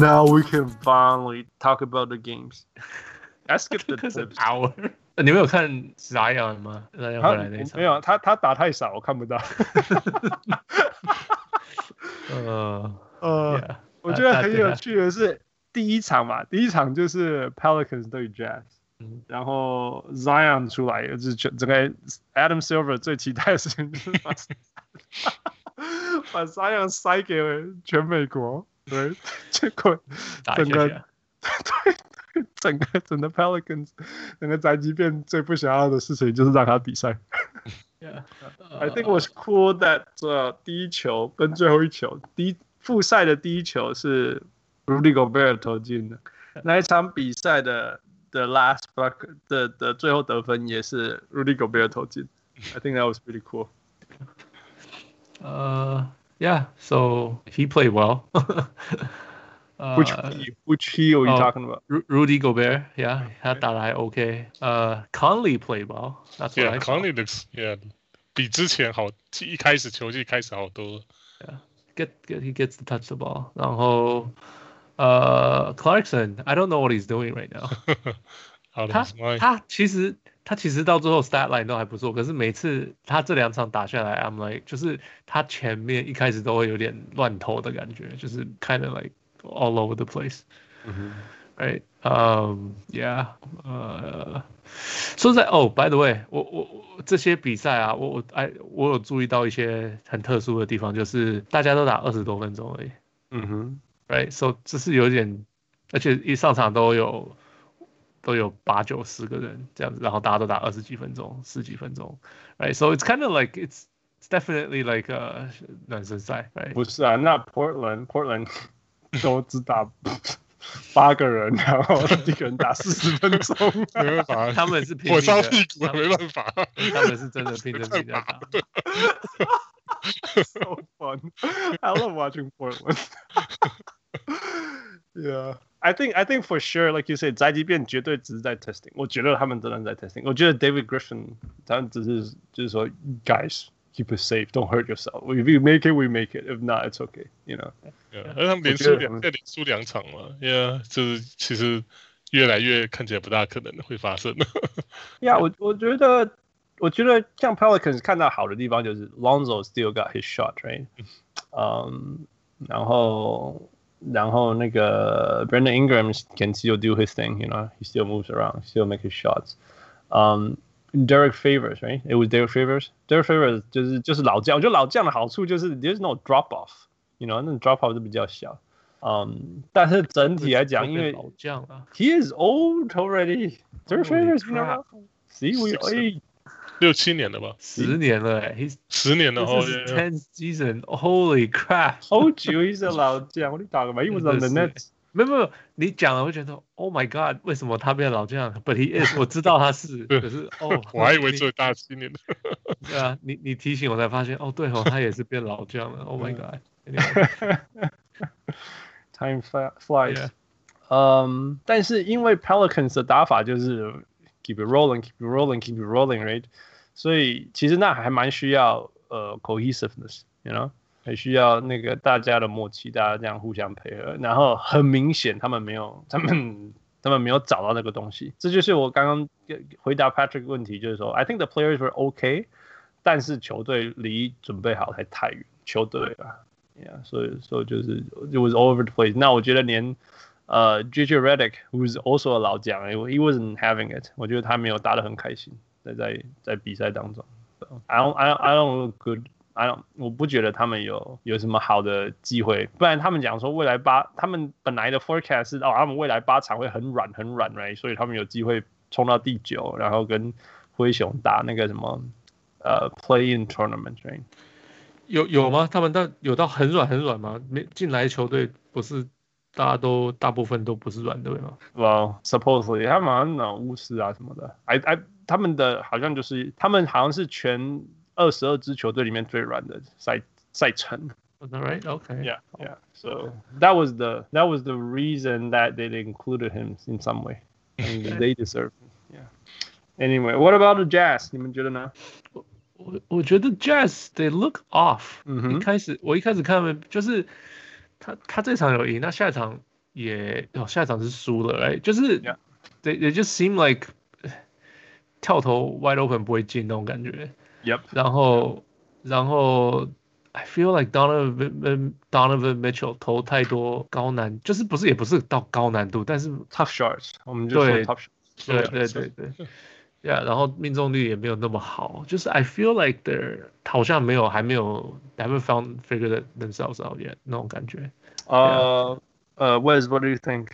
Now we can finally talk about the games. I skipped the tips. Hour.你们有看 Zion 嗎 ？Zion 回来那場沒有，他打太少，我看不到。我覺得很有趣的是第一場嘛，第一場就是 Pelicans 對 Jazz，然後 Zion 出來，就是整個 Adam Silver 最期待的事情就是把 Zion 塞給全美國，對，結果整個對整個 Pelicans 整個宅急便最不想要的事情就是讓他比賽。I think it was cool that 第一球跟最後一球，複賽的第一球是 Rudy Gobert 投進的，那一場比賽的 last bucket 的最後得分也是 Rudy Gobert 投進。I think that was pretty cool. Yeah, so he played well. Which he are you talking about? Rudy Gobert, yeah, 他打得還 OK. Conley played well. That's what I saw. Conley looks, yeah, 比之前好，一開始球季開始好多。 Yeah, he gets to touch the ball. 然後Clarkson, I don't know what he's doing right now. 他其實到最後 stat line 都還不錯，可是每次他這兩場打下來 ，I'm like 就是他前面一開始都會有點亂投的感覺，就是 kind of like all over the place. Right? Yeah. 說實在by the way, 我這些比賽啊，我有注意到一些很特殊的地方，就是大家都打20多分鐘而已。Right? So 這是有點，而且一上場都有8、9、10個人這樣子，然後大家都打20幾分鐘、10幾分鐘。Right? So it's kind of like it's definitely like 暖身賽。Right? 不是啊，那 Portland 都只打8個人，然後一個人打40分鐘， 沒辦法， 他們是拼命的， 火燒屁股沒辦法， 他們是真的拼着命在打。 So fun! I love watching Portland. Yeah, I think for sure, like you said, 宅急便絕對只是在 testing. 我覺得他們真的在 testing. 我覺得 David Griffin 他們只是就是說 ，guys keep it safe, don't hurt yourself. If you make it, we make it. If not, it's okay. You know. 而他們連輸2場嘛 ，Yeah， 就是其實越來越看起來不大可能會發生。 Yeah， 我覺得像 Pelicans 看到好的地方就是 Lonzo still got his shot, right? 然後那個 Brandon Ingram can still do his thing, you know, he still moves around, still make his shots. Derek Favors, right? It was Derek Favors. Derek Favors 就是老將，我覺得老將的好處就是 there's no drop off, you know, 那 drop off 是比較小。但是整體來講，因為老將啊 he is old already. Derek Favors, you know, see we 6-7年了吧 ？10年了，he's 10年了哦 ，10th season, holy crap! Told you he's a 老將，我跟你講嘛，he was on the Nets。 沒有，你講了會覺得 ，Oh my God， 為什麼他變老將 ？But he is， 我知道他是，可是我還以為只有大7年。 對啊，你提醒我才發現，對哦，他也是變老將了。Oh my God，Time flies。但是因為 Pelicans 的打法就是 keep it rolling, keep it rolling, keep it rolling, right？ 所以其實那還蠻需要cohesiveness，you know， 還需要那個大家的默契，大家這樣互相配合。然後很明顯他們沒有找到那個東西。這就是我剛剛回答 Patrick 問題，就是說 I think the players were okay， 但是球隊離準備好還太遠。球隊啊 ，Yeah， 所以就是 it was all over the place。那我覺得連JJ Redick who's also a 老將 he wasn't having it， 我覺得他沒有打得很開心，在比賽當中。So, I don't look good。我不覺得他們有什麼好的機會，不然他們講說他們本來的 forecast 是他們未來8場會很軟 ，right？ 所以他們有機會衝到第9，然後跟灰熊打那個什麼play-in tournament，right？ 有嗎？他們有到很軟嗎？進來球隊不是大部分都不是軟隊嗎 ？Well, supposedly 他們好像巫師啊什麼的，他們的好像就是他們好像是全22支球隊裡面最軟的賽程。 Was that right? Okay. Yeah. So that was the reason that they included him in some way. And they deserve him. Yeah. Anyway, what about the Jazz? 你們覺得呢？ 我覺得 Jazz they look off。我一開始看他們就是他這場有贏，那下一場下一場是輸了，哎，就是 they just seem like 跳投 wide open 不會進那種感覺。 Yep. 然後 I feel like Donovan Mitchell 投太多高難，就是也不是到高難度，但是 tough shots， 我們就說 tough shots。 對。Yeah， 然後命中率也沒有那麼好，就是 I feel like they're 好像還沒有 haven't figured themselves out yet 那種感覺。 Wes, what do you think？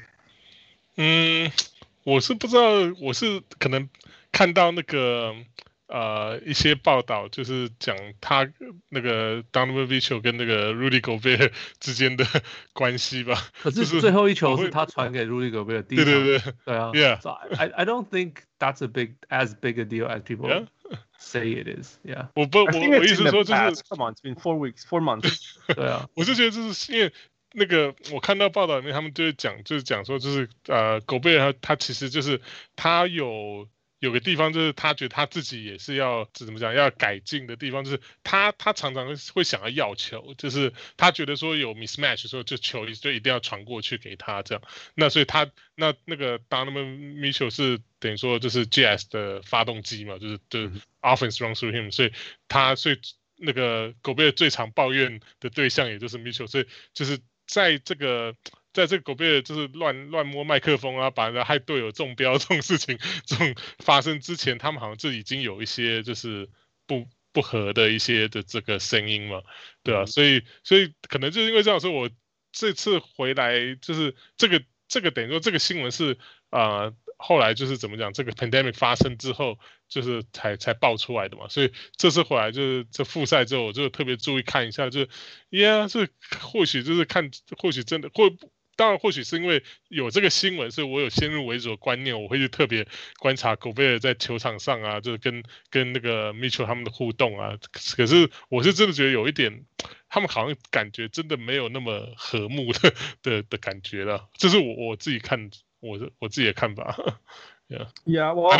我是不知道，我是可能看到那個一些報道，就是講他那個 Donovan Mitchell 跟那個 Rudy Gobert 之間的關係吧。 可是最後一球是他傳給 Rudy Gobert 第一場。對啊。 Yeah. So I don't think that's as big a deal as people say it is. Yeah. 我意思說就是 ，Come on, it's been 4 months. 对啊。 我是觉得就是因為那個我看到報道裡面，他們就會講說，就是Gobert他其實就是他有個地方，就是他覺得他自己也是要怎麼講，要改進的地方，就是他常常會想要球，就是他覺得說有 mismatch 的時候，就球就一定要傳過去給他這樣。那所以那個 Donovan Mitchell 是等於說就是 Jazz 的發動機嘛，就是 offense run through him， 所以那個 Gobert 最常抱怨的對象也就是 Mitchell， 所以就是在這個 Gobert 就是亂摸麥克風啊，把人家害隊友中標這種事情，這種發生之前，他們好像就已經有一些就是不合的一些的這個聲音嘛，對啊，所以可能就是因為這樣說，我這次回來就是這個等於說這個新聞是後來就是怎麼講，這個 pandemic 發生之後，就是才爆出來的嘛，所以這次回來就是這複賽之後，我就特別注意看一下，就這或許就是或許真的當然，或許是因為有這個新聞，所以我有先入為主的觀念，我會去特別觀察狗貝爾在球場上啊，就是跟那個 Mitchell 他們的互動啊。可是我是真的覺得有一點，他們好像感覺真的沒有那麼和睦的感覺了。這是我自己看我自己的看法。 Yeah, well,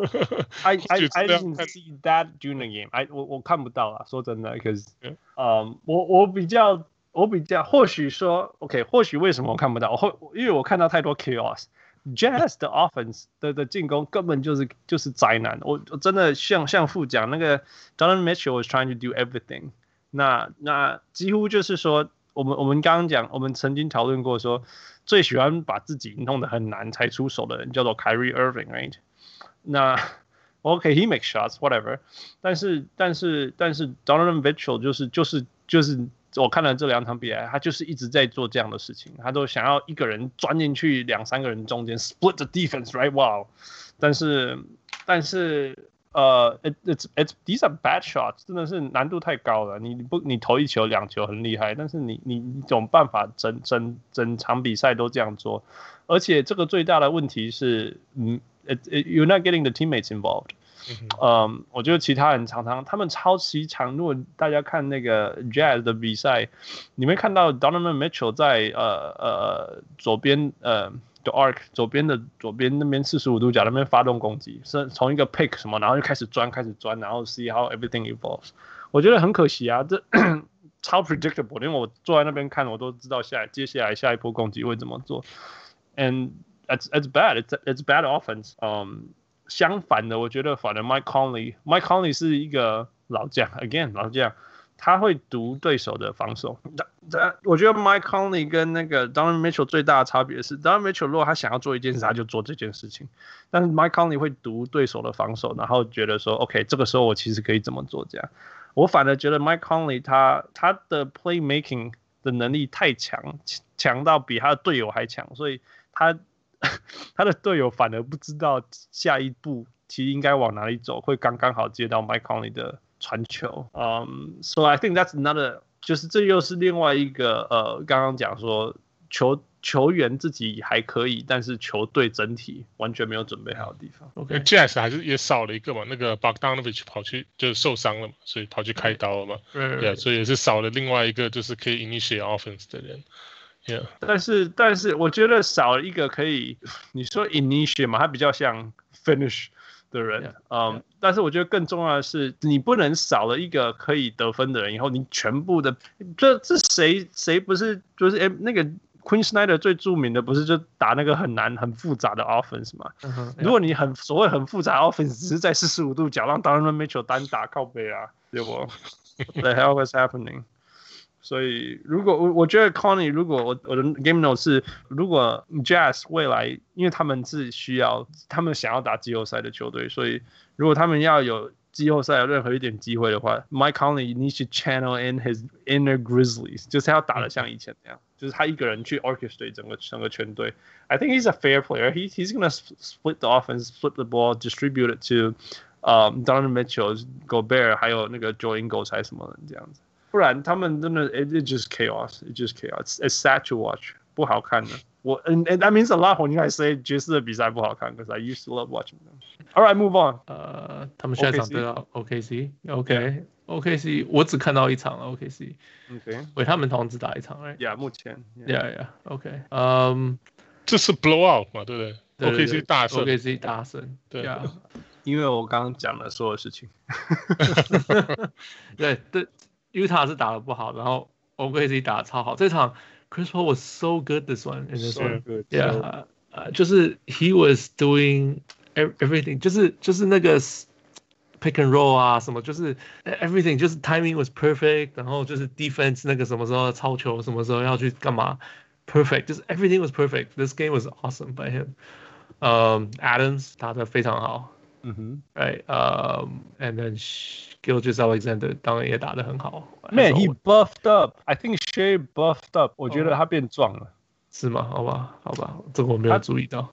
I didn't see that during the game. 我看不到啊，說真的 ，because 我比較，或許說 ，OK， 或許為什麼我看不到？因為我看到太多 chaos。Jazz 的 offense 的進攻根本就是災難。我真的像副講那個 Donovan Mitchell was trying to do everything。那幾乎就是說，我們剛剛講，我們曾經討論過說，最喜歡把自己弄得很難才出手的人叫做 Kyrie Irving，right？ 那 OK，he makes shots whatever， 但是 Donovan Mitchell 就是我看了這兩場比賽，他就是一直在做這樣的事情，他都想要一個人鑽進去2-3個人中間 split the defense，right？ Wow， 但是these are bad shots， 真的是難度太高了。你投1球2球很厲害，但是你有辦法整場比賽都這樣做，而且這個最大的問題是，you're not getting the teammates involved。我覺得其他人常常他們超級長，如果大家看那個 Jazz 的比賽，你會看到 Donovan Mitchell 在左邊the arc 左邊那邊45度角那邊發動攻擊，是從一個 pick 什麼，然後就開始鑽，然後 see how everything evolves。我覺得很可惜啊，這超 predictable， 因為我坐在那邊看，我都知道接下來下一波攻擊會怎麼做。And it's bad, it's bad offense。相反的，我覺得反而 Mike Conley 是一個老將 ，again 老將，他會讀對手的防守。我覺得 Mike Conley 跟那個 Donovan Mitchell 最大的差別是 ，Donovan Mitchell 如果他想要做一件事，他就做這件事情，但是 Mike Conley 會讀對手的防守，然後覺得說 ，OK， 這個時候我其實可以怎麼做這樣。我反而覺得 Mike Conley 他的 playmaking 的能力太強到比他的隊友還強，所以他的隊友反而不知道下一步其實應該往哪裡走，會剛剛好接到 Mike Conley 的傳球。So I think that's another， 就是這又是另外一個剛剛講說球員自己還可以，但是球隊整體完全沒有準備好的地方。 OK，Jazz 還是也少了一個嘛，那個 Bogdanovic 跑去就受傷了嘛，所以跑去開刀了嘛，所以也是少了另外一個就是可以 initiate offense 的人。Yeah. 但是我覺得少了一個可以，你說 initiate 嘛，他比較像 finish 的人。但是我覺得更重要的是，你不能少了一個可以得分的人，以後你全部的這誰不是就是那個 Quinn Snyder 最著名的不是就打那個很難很複雜的 offense 嘛？如果你所謂很複雜的 offense 只是在45度角讓 Donovan Mitchell 單打靠背啊，對不 ？What the hell was happening？ 所以如果我覺得 Connie， 如果我的 game note 是，如果 Jazz 未來，因為他們是需要，他們想要打季後賽的球隊，所以如果他們要有季後賽有任何一點機會的話 ，Mike Conley needs to channel in his inner Grizzlies， 就是要打得像以前那樣，就是他一個人去 orchestrate 整個全隊。I think he's a fair player. He's gonna split the offense, flip the ball, distribute it to Donovan Mitchell, Gobert， 還有那個 Joe Ingles 還是什麼人這樣子。不然他們真的 it just chaos. It just chaos. It's sad to watch. 不好看的。and that means a lot when you guys say 爵士的比賽不好看 because I used to love watching them. All right, move on. 他們下一場對到 OKC。OKC 我只看到一場了 OKC。 OK。 喂，他们好像只打一场 right？ Yeah， 目前。 Yeah. OK。 這是 blowout 嘛，對不對？ OKC 大勝。 OKC 大勝。對。 因為我剛剛講了所有事情。 對，Utah 是打得不好，然後 OKC 打得超好。這場 Chris Paul was so good this one. So good. Yeah. 就是 he was doing everything. 就是那個 pick and roll 啊，什麼就是 everything. 就是 timing was perfect. 然後就是 defense 那個什麼時候抄球，什麼時候要去幹嘛 ，perfect. 就是 everything was perfect. This game was awesome by him. Adams 打得非常好。Right. And then Gilgeous-Alexander 當然也打得很好。 Man, he buffed up. I think Shea buffed up. 我覺得他變壯了。 是嗎？好吧，這個我沒有注意到。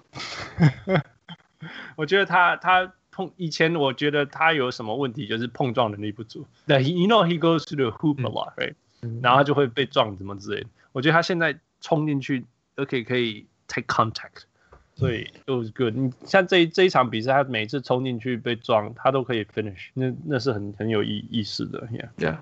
我覺得他以前我覺得他有什麼問題，就是碰撞能力不足。You know he goes to the hoop a lot, right? 然後他就會被撞，怎麼之類的。我覺得他現在衝進去，可以 take contact。所以 it was good。你像這一場比賽，他每次衝進去被撞，他都可以 finish， 那是很有意思的。 Yeah.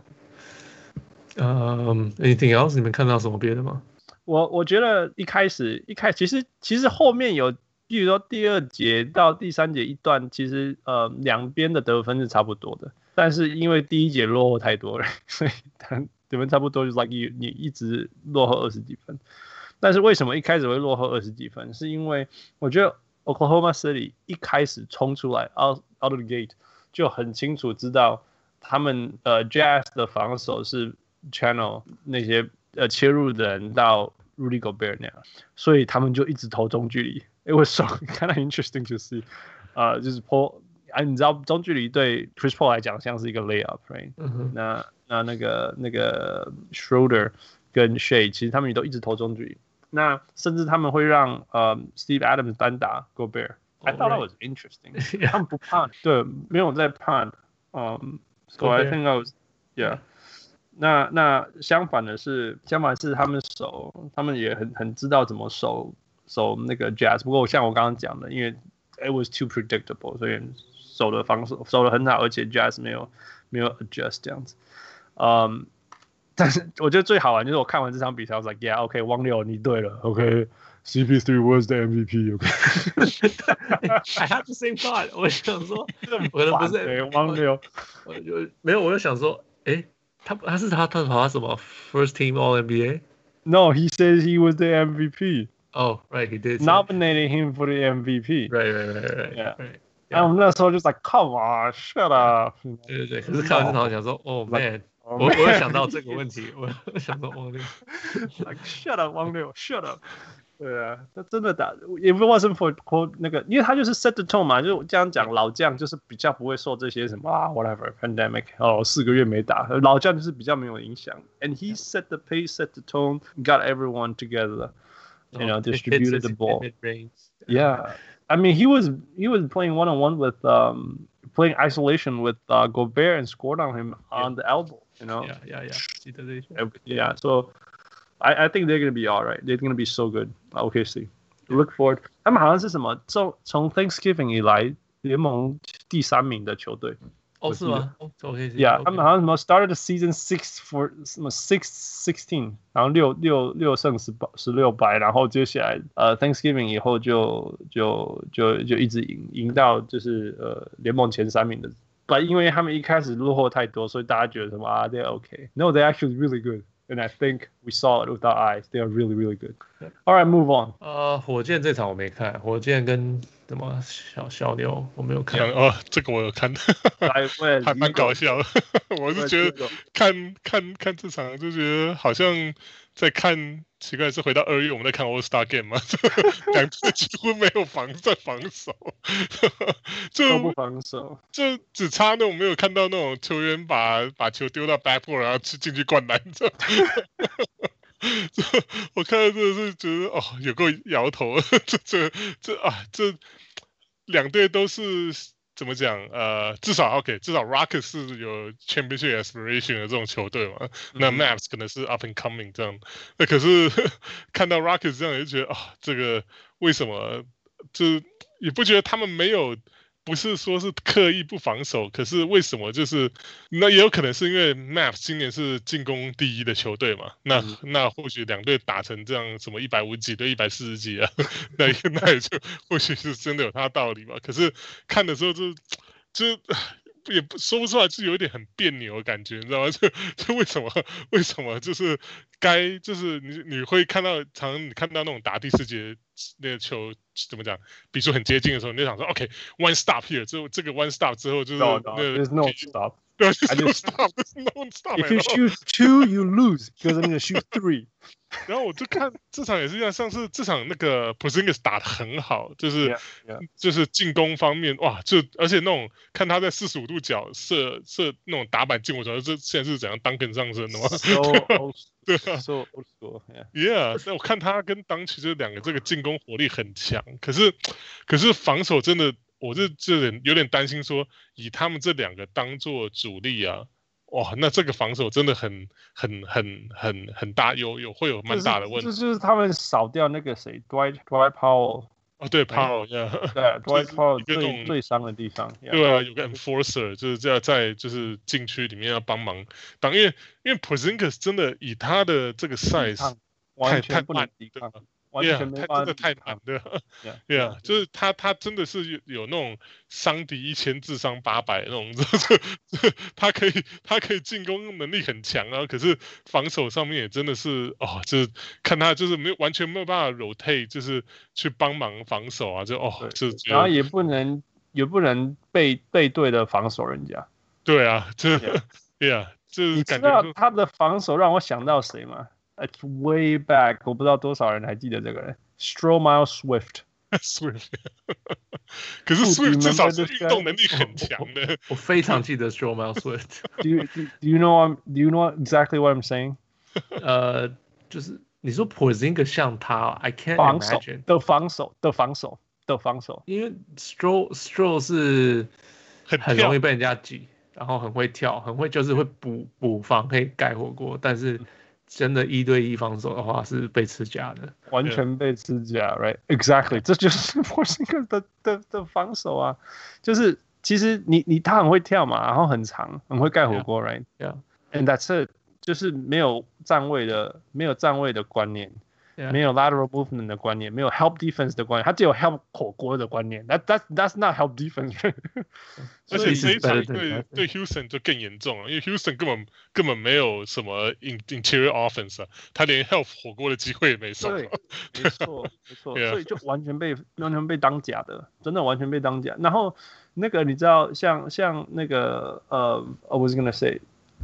Anything else？ 你們看到什麼別的嗎？ 我覺得一開始其實後面有，比如說第2節到第3節一段，其實兩邊的得分是差不多的，但是因為第1節落後太多了，所以得分差不多，就是 like 你一直落後20幾分。但是為什麼一開始會落後20幾分？是因為我覺得 Oklahoma City 一開始衝出來 out of the gate 就很清楚知道他們Jazz 的防守是 channel 那些切入的人到 Rudy Gobert 那樣，所以他們就一直投中距離。It was so kind of interesting to see， 就是 Paul， 你知道中距離對 Chris Paul 來講像是一個 layup，right？ 那個 Schroeder 跟 Shea 其實他們也都一直投中距離。那甚至他們會讓Steve Adams 單打 Gobert。I thought that was interesting。他們不怕，對，沒有在怕。So I think I was，yeah。那相反是他們也很知道怎麼守那個 Jazz。不過像我剛剛講的，因為 it was too predictable， 所以防守守得很好，而且 Jazz 沒有 adjust 這樣子。但是我覺得最好玩就是我看完這場比賽，我 was like yeah okay 汪六你對了 okay CP3 was the MVP okay I had the same thought 我想說我都不是汪六沒有我就想說他是他跑什麼 first team all NBA No he says he was the MVP Oh right he did nominating him for the MVP right yeah然後我們那時候就 like come on shut up 對可是看完這場我想說oh man我有想到這個問題，我有想到汪六 ，like shut up， 汪六 ，shut up。對啊，他真的打，也不 wasn't for 那個，因為他就是 set the tone 嘛，就這樣講，老將就是比較不會受這些什麼whatever pandemic 4個月沒打，老將就是比較沒有影響。And he set the pace, set the tone, got everyone together, you know, distributed the ball. Yeah, I mean he was playing one-on-one with playing isolation with Gobert and scored on him on the elbow. You know? Yeah. So I think they're gonna be all right. They're gonna be so good. OKC. Look forward. 他們好像是什麼？從 Thanksgiving 以來聯盟第3名的球隊。 是嗎？OKC. Yeah. 他們好像什麼 started the season 6-16，然後6勝16敗，然後接下來Thanksgiving 以後就一直贏到就是聯盟前3名的。But 因為他們一開始落後太多，所以大家覺得什麼they're okay. No, they're actually really good. And I think we saw it with our eyes. They are really, really good. All right, move on. 火箭这场我没看，火箭跟什么小牛我没有看。 这個我有看，還蠻搞笑的。我是覺得看這場就覺得好像在看，奇怪是回到2月我們在看 All Star Game 嘛，兩隊幾乎沒有防守， 都不防守， 就只差那種沒有看到那種球員把球丟到 backboard 然後進去灌籃我看到真的是覺得有夠搖頭，這兩隊都是怎麼講？至少 Rockets 是有 championship aspiration 的這種球隊嘛，那 Mavs 可能是 up and coming 這樣。那可是看到 Rockets 這樣，就覺得這個為什麼？就也不覺得他們沒有。不是說是刻意不防守，可是為什麼就是那也有可能是因為 Mavs 今年是進攻第一的球隊嘛？那或許兩隊打成這樣什麼150幾對140幾啊，那也就或許是真的有他的道理吧。可是看的時候就也說不出來，就有點很彆扭的感覺，你知道嗎？就為什麼就是就是你會看到常常你看到那種打第4節那個球怎麼講，比如說很接近的時候，你就想說 OK，one stop here， 之後這個 one stop 之後就是 there's no stop， there's no stop。 If you shoot 2, you lose because I'm gonna shoot 3。 然後我就看這場也是一樣，上次這場那個 Porzingis 打得很好，就是進攻方面哇，而且那種看他在45度角射那種打板進，我覺得這現在是怎樣 Duncan 上升的嗎？對啊 ，so old school，yeah。那我看他跟Doncic這兩個這個進攻火力很強，可是防守真的，我有點擔心說，以他們這兩個當做主力啊。哇，那這個防守真的很大，會有蠻大的問題。 就是他們少掉那個誰 ，Dwight Powell。 對 Powell， 對 ，Dwight Powell 最傷的地方。 對啊，有個 enforcer， 就是要在就是禁區裡面要幫忙擋，因為 Porzingis 真的以他的這個 size 完全不能抵抗。完全沒辦法， 真的太難了。對啊，就是他真的是有那種傷敵1000自傷800那種，他可以進攻能力很強啊，可是防守上面也真的是就是看他就是完全沒有辦法 rotate， 就是去幫忙防守啊， 然後也不能背對的防守人家。 對啊，對啊，就是你知道他的防守讓我想到誰嗎？It's way back， 我不知道多少人還記得這個人 ，Stromile Swift。 可是 Swift 至少是運動能力很強的。 我非常記得 Stromile Swift。 Do you know exactly what I'm saying？ 就是你說 Porzingis 像他 ，I can't imagine 的防守， 因為 Stro 是很容易被人家擠，然後很會跳，很會就是會補防可以蓋火鍋，但是。真的1對1防守的話是被吃假的， 完全被吃假 ，right? Exactly， 這就是 Porzingis 的防守啊，就是其實他很會跳嘛，然後很長，很會蓋火鍋 ，right? Yeah，and that's it， 就是沒有站位的觀念。沒有 lateral movement 的觀念，沒有 help defense 的觀念，他只有 help 火鍋的觀念。That's not help defense 。 而且這一場對 Houston 就更嚴重了，因為 Houston 根本沒有什麼 interior offense 啊，他連 help 火鍋的機會也沒受。 對，沒錯，所以就完全被當假的，真的完全被當假。然後那個你知道，像那個I was gonna say，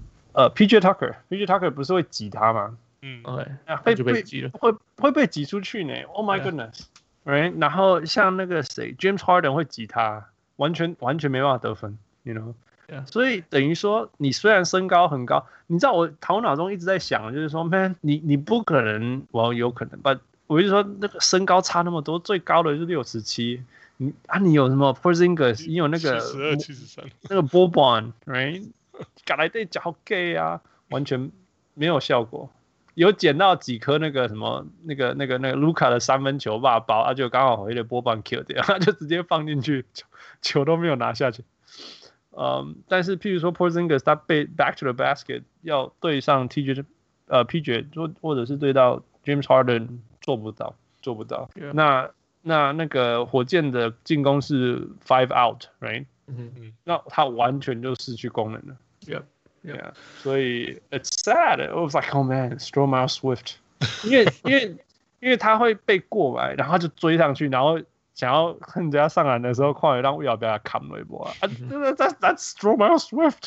PJ Tucker 不是會擠他嗎？會被擠出去呢 ！Oh my goodness，right？ 然後像那個誰 ，James Harden 會擠他，完全沒辦法得分 ，you know？ 所以等於說，你雖然身高很高，你知道我頭腦中一直在想，就是說 ，man， 你不可能，有可能吧？我就說那個身高差那麼多，最高的是67，你有什麼 Porzingis， 你有那個 72、73， 那個 Boban，right？ 搞來對腳 gay 啊，完全沒有效果。有撿到幾顆那個什麼那個盧卡的3分球吧包，他就剛好回來波棒 kill 掉，他就直接放進去，球都沒有拿下去。但是譬如說 Porzingis 他被 back to the basket 要對上 PJ 或者是對到 James Harden 做不到。Yeah. 那個火箭的進攻是 5 out，right？ 那他完全就失去功能了。 Yeah. Yeah， 所以 it's sad. It was like, oh man, Stromae Swift， 因為他會被過來，然後他就追上去，然後想要人家上籃的時候，快點讓要不要砍一波啊？That's Stromae Swift.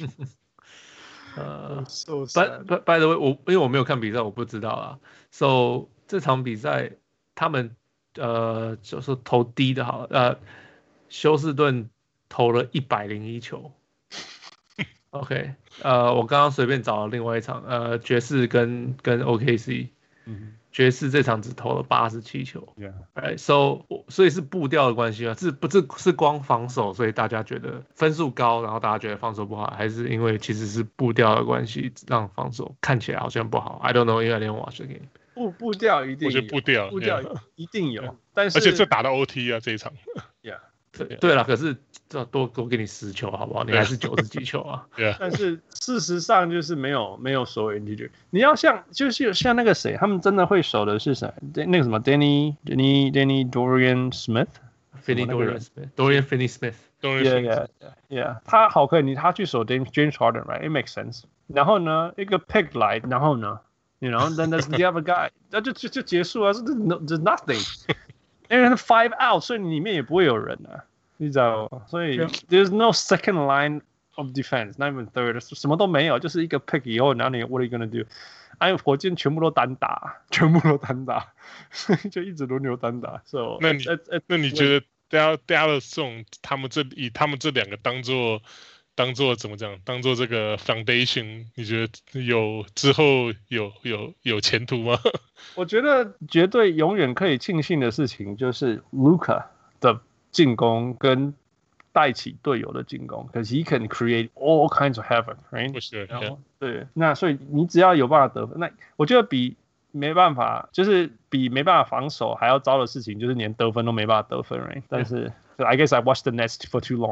So sad. By the way， 因為我沒有看比賽，我不知道啊。So 這場比賽他們就是投低的好，休斯頓投了101球。OK， 我剛剛隨便找了另外一場，爵士跟 OKC， 爵士這場只投了87球。Right, so 所以是步調的關係嗎？是光防守，所以大家覺得分數高，然後大家覺得防守不好，還是因為其實是步調的關係，讓防守看起來好像不好 ？I don't know， 因為I didn't watch the game。 步調一定有， 我觉得步調一定有，但是而且這打到 OT 啊這一場。 Yeah。 對了，可是多給你10球好不好？你還是90幾球啊。 但是事實上就是沒有所謂 integer。你要像那個誰，他們真的會守的是誰？那個什麼 Danny Dorian Smith。Dorian Finney Smith。Yeah， 他好可以，他去守 James Harden，right？It makes sense。然後呢，一個 pick 來，然後呢 ，you know，then there's the other guy， 那就結束了，there's nothing。因為是 5 out， 所以裡面也不會有人啊，你知道嗎？所以 there's no second line of defense, not even third， 什麼都沒有，就是一個 pick 以後，然後你 what are you gonna do？ 哎，火箭全部都單打，所以就一直輪流單打。So 那你覺得 Dallas 這種以他們這兩個當做怎麼講？當做這個 foundation， 你覺得之後有前途嗎？ 我覺得絕對永遠可以慶幸的事情就是 Luka 的進攻跟帶起隊友的進攻 ，because he can create all kinds of havoc, right？ Sure, 對，那所以你只要有辦法得分，那我覺得比沒辦法防守還要糟的事情，就是連得分都沒辦法得分 ，right？ 但是 I guess I watched the Nets for too long 。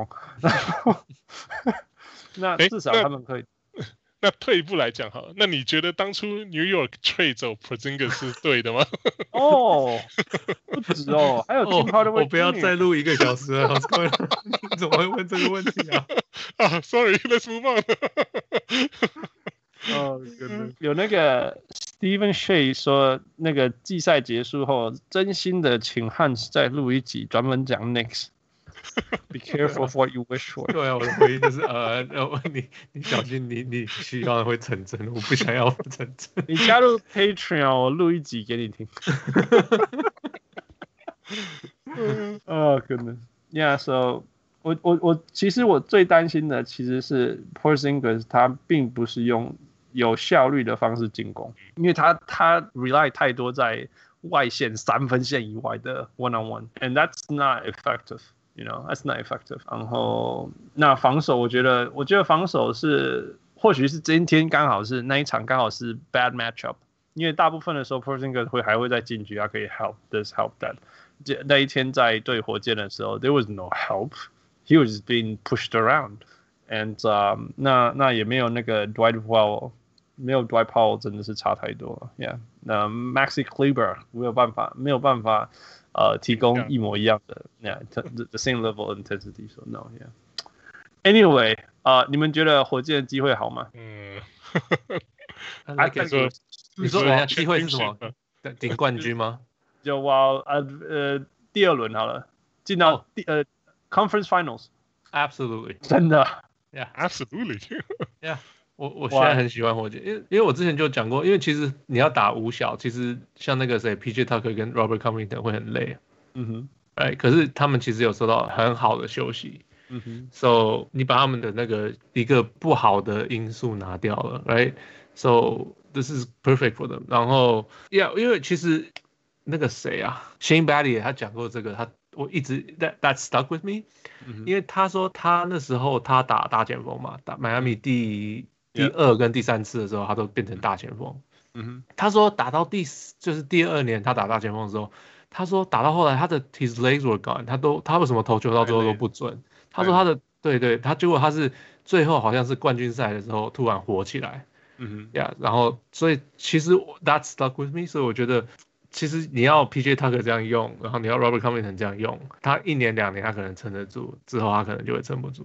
那至少他們可以。 那退一步來講好了，那你覺得當初 New York trade 走 Porzingis 是對的嗎？ 不止哦，還有Tim Hardaway。 我不要再錄1個小時了，你怎麼會問這個問題啊 ？Sorry，let's move on。有那個 Stephen Shea 說，那個季賽結束後，真心的請Hans再錄一集，專門講 Knicks。Be careful of what you wish for。 對啊，我的回應就是你小心你希望會成真，我不想要成真。 你加入 Patreon， 我錄一集給你聽。goodness， yeah， so 我其實我最擔心的其實是 Porzingis， 他並不是用有效率的方式進攻，因為他 rely 太多在外線3分線以外的 one-on-one，and that's not effective。You know, that's not effective. 然後那防守，我覺得防守是或許是今天剛好是那一場剛好是 bad matchup， 因為大部分的時候 Porzingis 還會在禁區，他可以 help this help that。那一天在對火箭的時候 ，there was no help. He was being pushed around, and 那也沒有那個 Dwight Powell， 沒有 Dwight Powell 真的是差太多了 ，Yeah。那 Maxi Kleber 沒有辦法。提供一模一樣的 the same level of intensity. So no, yeah. Anyway, 你們覺得火箭的機會好嗎？ 你說人家機會是什麼？頂冠軍嗎？ 就第2輪好了，進到Conference Finals. Absolutely. 真的 Yeah, absolutely. Yeah. 我現在很喜歡火箭，因為我之前就講過，因為其實你要打5小，其實像那個誰 PJ Tucker 跟 Robert Covington 會很累，可是他們其實有受到很好的休息，so 你把他們的那個一個不好的因素拿掉了 ，right？So this is perfect for them。然後因為其實那個誰啊 ，Shane Battier 他講過這個，我一直 that stuck with me，因為他說他那時候他打大前鋒嘛，打邁阿密第2跟第3次的時候，他都變成大前鋒。他說打到就是第2年他打大前鋒的時候，他說打到後來他的 his legs were gone， 他為什麼投球到最後都不準？他說他的他結果他是最後好像是冠軍賽的時候突然火起來。然後所以其實 that stuck with me， 所以我覺得其實你要 PJ Tucker 這樣用，然後你要 Robert Covington 這樣用，他1年2年他可能撐得住，之後他可能就會撐不住。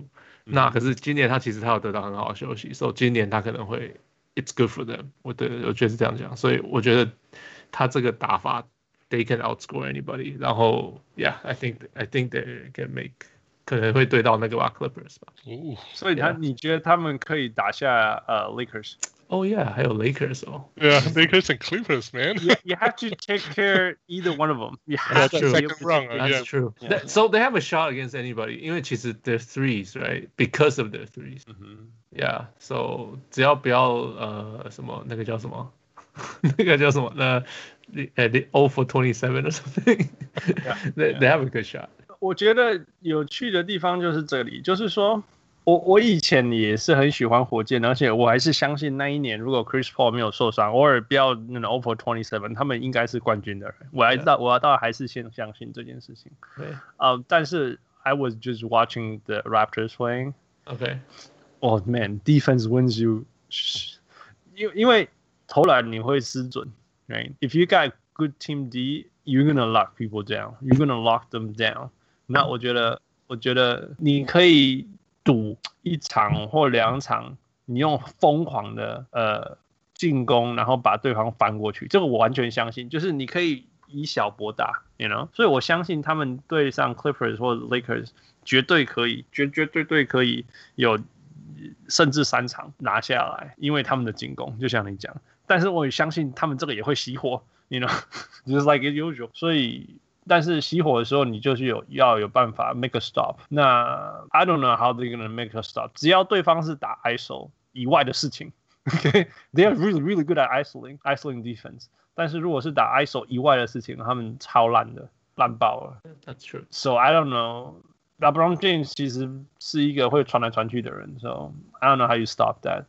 那可是今年他其實他有得到很好的休息，所以今年他可能會 it's good for them。我覺得是這樣講，所以我覺得他這個打法 they can outscore anybody。然後 I think they can make 可能會對到那個 Clippers 吧。 所以你覺得他們可以打下Lakers？Oh yeah， 還有 Lakers 哦。 Yeah, Lakers and Clippers, man. You have to take care either one of them. You have to second round. That's true. So they have a shot against anybody. 因為其實 their threes, right? Because of their threes. Yeah. So 只要不要什麼那個叫什麼那個叫什麼they 0 for 27 or something. They have a good shot. 我覺得有趣的地方就是這裡，就是說。我以前也是很喜歡火箭，而且我還是相信那一年如果 Chris Paul 沒有受傷，偶爾不要那種 over 27，他們應該是冠軍的人。我倒還是先相信這件事情。但是 I was just watching the Raptors playing. Okay. Oh man, defense wins you. 因為投籃你會失準 ，right? If you got good team D, you're gonna lock people down. You're gonna lock them down. 那我覺得你可以。賭一場或兩場，你用瘋狂的進攻，然後把對方翻過去，這個我完全相信。就是你可以以小博大 ，you know， 所以我相信他們對上 Clippers 或 Lakers 絕對可以，絕對可以有甚至3場拿下來，因為他們的進攻，就像你講。但是我也相信他們這個也會熄火 ，you know，just like usual。所以。但是熄火的時候，你就是要有辦法 make a stop。那 I don't know how they're gonna make a stop。只要对方是打 ISO 以外的事情 ，OK， they are really really good at isolating defense。但是如果是打 ISO 以外的事情，他們超爛的，爛爆了。 That's true. So I don't know. LeBron James 其實是一個會傳來傳去的人 ，So I don't know how you stop that.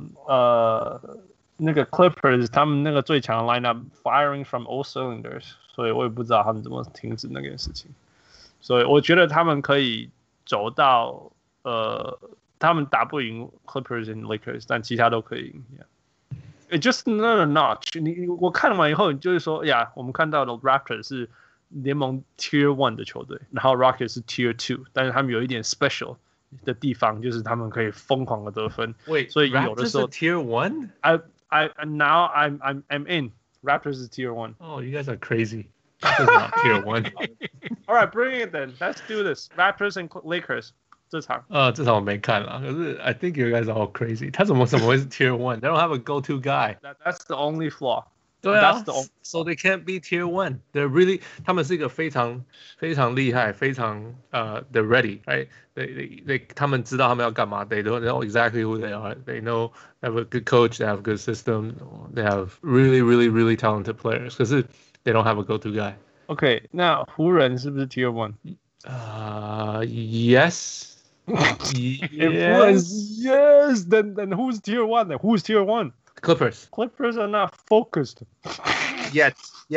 那個 Clippers 他們那個最強的 lineup firing from all cylinders。所以我也不知道他們怎麼停止那件事情，所以我覺得他們可以走到他們打不贏 Clippers and Lakers， 但其他都可以贏。It's just another notch。我看完以後，你就是說呀，我們看到的 Raptors 是聯盟 Tier 1的球隊，然後 Rockets 是 Tier 2，但是他們有一點 special 的地方，就是他們可以瘋狂的得分。所以有的時候 Tier 1？ Now I'm in。Raptors is Tier 1. Oh, you guys are crazy. This is not Tier 1. All right, bring it then. Let's do this. Raptors and Lakers. 这場这場我沒看啦，可是 I think you guys are all crazy. 他怎麼會是 Tier 1? They don't have a go-to guy. That's the only flaw. 對啊 ，So they can't be Tier 1. They're really 他們是一個非常非常厲害，非常they're ready, right? They 他們知道他們要幹嘛。They don't know exactly who they are. They know they have a good coach. They have a good system. They have really, really, really talented players. 可是 they don't have a go-to guy. Okay, 那湖人是不是 Tier 1? Yes. Yes. Then who's Tier 1? Then who's Tier 1? Clippers. Clippers are not focused. Yet.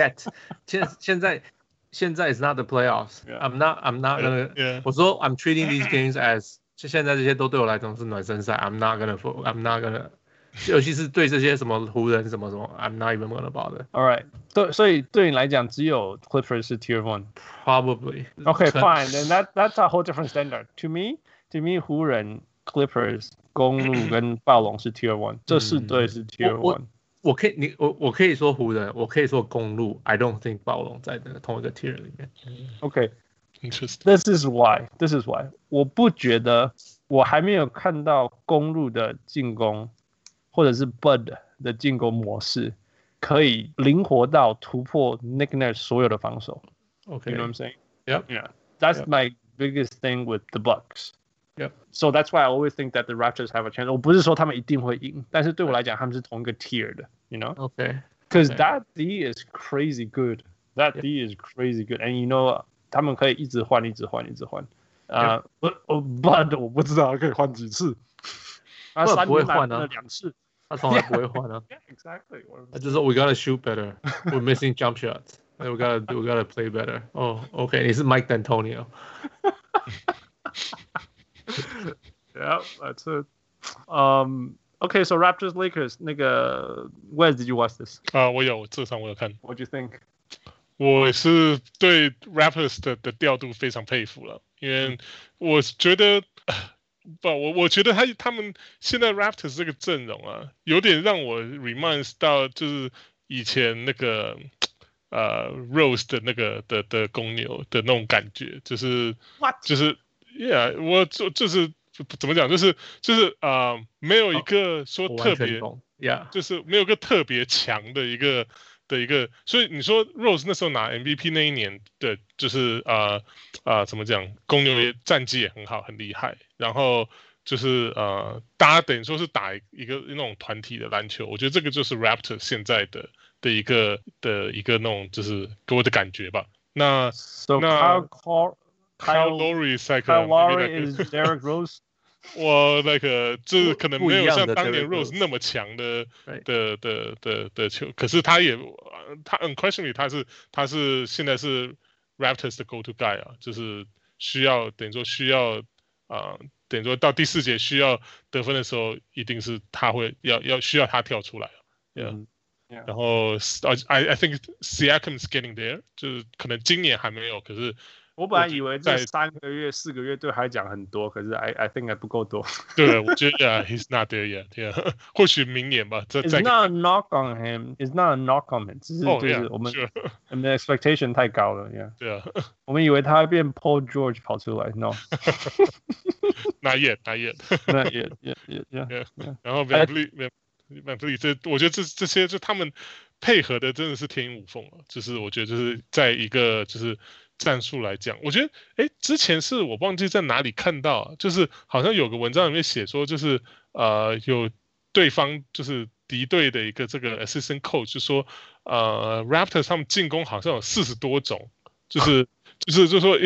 現在 is not the playoffs. Yeah. I'm not gonna. Yeah. 我說 I'm treating these games as 現在這些都對我來講是暖身賽。I'm not gonna. 尤其是對這些什麼湖人什麼 I'm not even gonna bother. All right. 所以對你來講，只有 Clippers 是 Tier 1. Probably. Okay, fine. Then that's a whole different standard. To me, 湖人 Clippers 公鹿跟暴龍是 Tier 1. 這4隊是 Tier 1. 我可以說湖人，我可以說公鹿。I don't think 暴龍在那個同一個 tier 裡面。 Okay, interesting. This is why. 我不覺得，我還沒有看到公鹿的進攻，或者是 Bud 的進攻模式，可以靈活到突破 Nick Nurse 所有的防守。 Okay, you know what I'm saying? Yeah. That's my biggest thing with the Bucks. Yep. So that's why I always think that the Raptors have a chance. 我不是說他們一定會贏，但是對我來講，他們是同一個 tier 的 ，you know? Okay. Because that D is crazy good. That D is crazy good, and you know 他們可以一直換。But 我不知道可以換幾次。 他3年換了2次， 他從來不會換啊。 Yeah, exactly. 他就說 We gotta shoot better. We're missing jump shots. We gotta play better. Oh, okay. 你是 Mike D'Antonio. Yeah, that's it. Okay, so Raptors Lakers 那個 Where did you watch this? 我有看。 What do you think? 我是對 Raptors 的調度非常佩服了，因為我覺得不，我覺得他們現在 Raptors 這個陣容啊，有點讓我 reminds 到就是以前那個Rose 的那個的公牛的那種感覺，就是Yeah， 我就是怎麼講，就是沒有一個說特別就是沒有一個特別強的一個。所以你說 Rose 那時候拿 MVP 那一年的，就是怎麼講，公牛也戰績也很好，很厲害。然後就是大家等於說是打一個那種團體的籃球，我覺得這個就是 Raptors 現在的一個那種就是給我的感覺吧。那 Kyle Lowry is Derrick Rose。 我就是可能沒有像當年 Rose 那麼強的球，可是他 unquestionably 他是現在是 Raptors 的 go to guy 啊，就是等于說到第4節需要得分的時候，一定是他需要他跳出來然後I think Siakam is getting there， 就是可能今年還沒有，可是。 我本來以為這3個月、4個月對他講很多，可是 I think 還不夠多。 對，我覺得 he's not there yet。或許明年吧。 It's not a knock on him. It's not a knock on him. 只是就是我们的 expectation 太高了。 對啊。 我們以為他會變 Paul George 跑出來 ，no。 Not yet. Yeah. 然後 VanVleet，我覺得這些就他們配合的真的是天衣無縫了。就是我覺得就是在一個就是。戰術來講，我覺得，之前是我忘記在哪裡看到，就是好像有個文章裡面寫說，就是有對方就是敵對的一個這個 assistant coach 就說，Raptors 他們進攻好像有40多種，就是說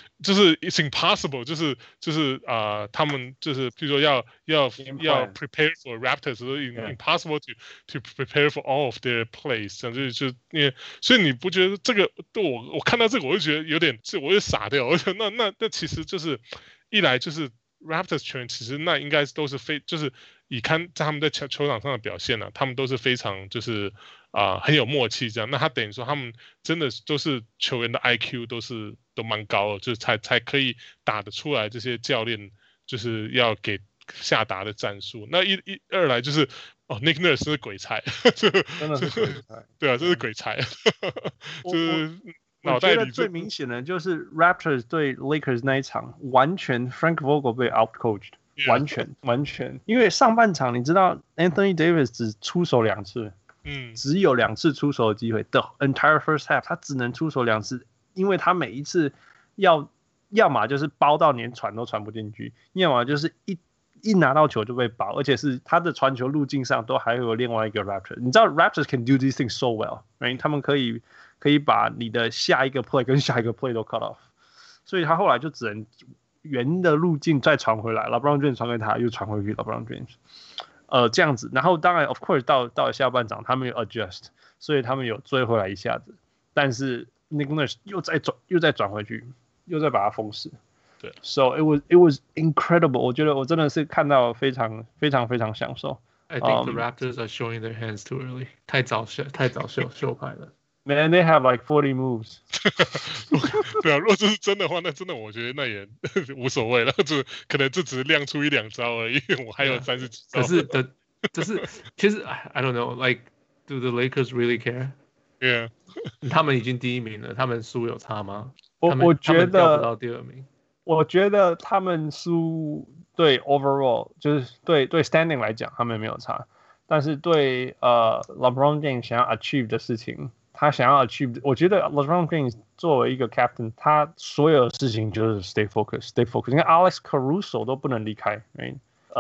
it's impossible， 就是他們就是譬如說要 prepare for Raptors， impossible to prepare for all of their plays， 這樣就因為所以你不覺得這個我看到這個我就覺得有點我就傻掉，我覺得那其實就是一來就是 Raptors 球員其實那應該都是就是以看在他們在球場上的表現呢，他們都是非常就是很有默契這樣，那他等於說他們真的都是球員的 IQ 都蠻高的，就是才可以打得出來這些教練就是要給下達的戰術。那二來就是Nick Nurse 是鬼才， 真的是鬼才， 對啊，这是鬼才，就是我覺得最明顯的就是 Raptors 對 Lakers 那一場，完全 Frank Vogel 被 outcoached， 完全，因為上半場你知道 Anthony Davis 只出手2次。只有2次出手的機會 ，the entire first half 他只能出手2次，因為他每一次要麼就是包到連傳都傳不進去，要麼就是一拿到球就被包，而且是他的傳球路徑上都還有另外一個 Raptors。你知道 Raptors can do these things so well，right？ 他們可以把你的下一個 play 跟下一個 play 都 cut off， 所以他後來就只能圓的路徑再傳回來 ，LeBron James 傳給他，又傳回去 LeBron James。這樣子，然後當然 ，of course， 到了下半場，他們有 adjust， 所以他們有追回來一下子，但是 Nick Nurse 又再轉回去，又再把它封死。 對 ，so it was incredible。我覺得我真的是看到非常非常非常享受。 I think the Raptors are showing their hands too early， 太早秀牌了。 Man, they have like 40 moves 。 對啊，如果這是真的話，那真的我覺得那也無所謂了，就可能就只是亮出1-2招而已。我還有30幾招。 可是其實 I don't know, like do the Lakers really care? Yeah， 他們已經第1名了，他們輸有差嗎？ 我覺得掉不到第2名。 我覺得他們輸對 overall 就是對 standing 來講，他們沒有差，但是對LeBron James 想要 achieve 的事情。他想要 achieve， 我覺得 LeBron James 作為一個 captain， 他所有的事情就是 stay focused。你看 Alex Caruso 都不能離開 ，right？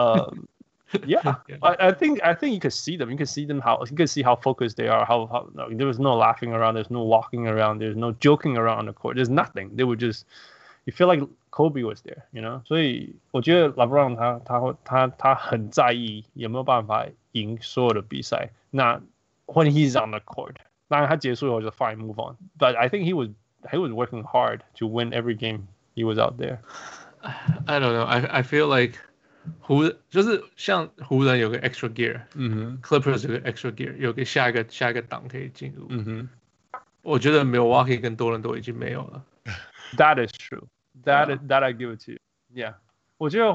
Yeah, I think you can see them. You can see how focused they are. How there was no laughing around. There's no walking around. There's no joking around on the court. There's nothing. They were just, you feel like Kobe was there, you know. 所以我覺得 LeBron 他很在意有沒有辦法贏所有的比賽。那 when he's on the court。當然他結束以後就 fine move on, but I think he was working hard to win every game he was out there. I don't know. I feel like 就是像湖人有個 extra gear，Clippers 有個 extra gear， 有個下一個檔可以進入。我覺得 Milwaukee 跟多倫多已經沒有了。 That is true. That I give it to you. Yeah. 我覺得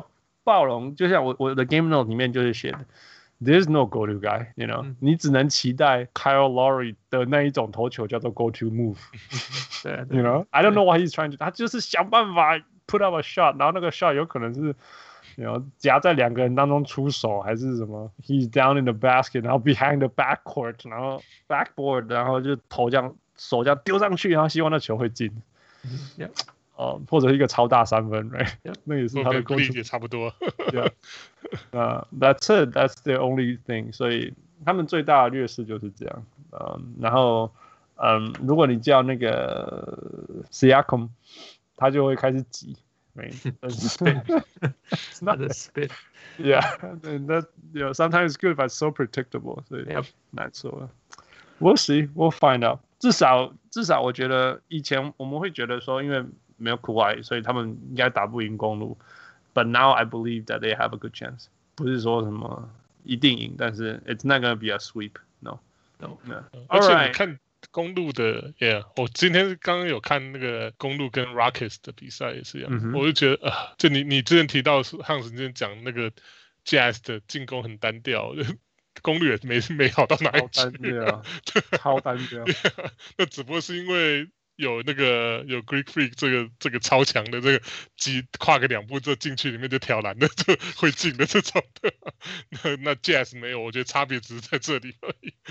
暴龍就像我的 game note 裡面就是寫的 ，There's no go to guy，you know，你只能期待 Kyle Lowry 的那一種投球叫做 go to move， 对 ，you know，I don't know what he's trying to， 他就是想辦法 put up a shot， 然後那個 shot 有可能是。夾在2個人當中出手還是什麼 ？He's down in the basket， 然後 behind the backcourt， 然後 backboard， 然後就頭這樣手這樣丟上去，然後希望那球會進。或者一個超大3分 ，right？ 那也是他的功力也差不多。 That's it. That's the only thing. 所以他們最大的劣勢就是這樣。然後如果你叫那個 Siakam， 他就會開始擠。 Spit. It's not a spit. Yeah, and that sometimes it's good, but it's so predictable. 所以難說。We'll see, we'll find out. 至少我覺得以前我們會覺得說，因為沒有Kawhi，所以他們應該打不贏公鹿。But now I believe that they have a good chance. 不是說什麼一定贏，但是 it's not gonna be a sweep. No. 而且你看。公鹿的 ，Yeah， 我今天剛剛有看那個公鹿跟 Rockets 的比賽也是一樣，我就覺得就你之前提到漢斯之前講那個 Jazz 的進攻很單調，公鹿也沒好到哪裡去， 超單調， 那只不過是因為有Greek Freak 這個超強的這個跨個2步就進去裡面就挑籃的就會進的這種的，那 Jazz 沒有，我覺得差別只是在這裡而已。